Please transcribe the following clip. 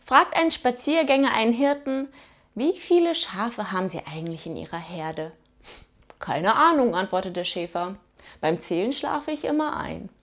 Fragt ein Spaziergänger einen Hirten: Wie viele Schafe haben Sie eigentlich in Ihrer Herde? Keine Ahnung, antwortet der Schäfer. Beim Zählen schlafe ich immer ein.